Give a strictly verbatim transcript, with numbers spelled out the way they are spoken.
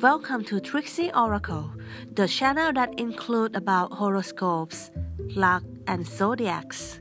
Welcome to Trixie Oracle, the channel that includes about horoscopes, luck, and zodiacs.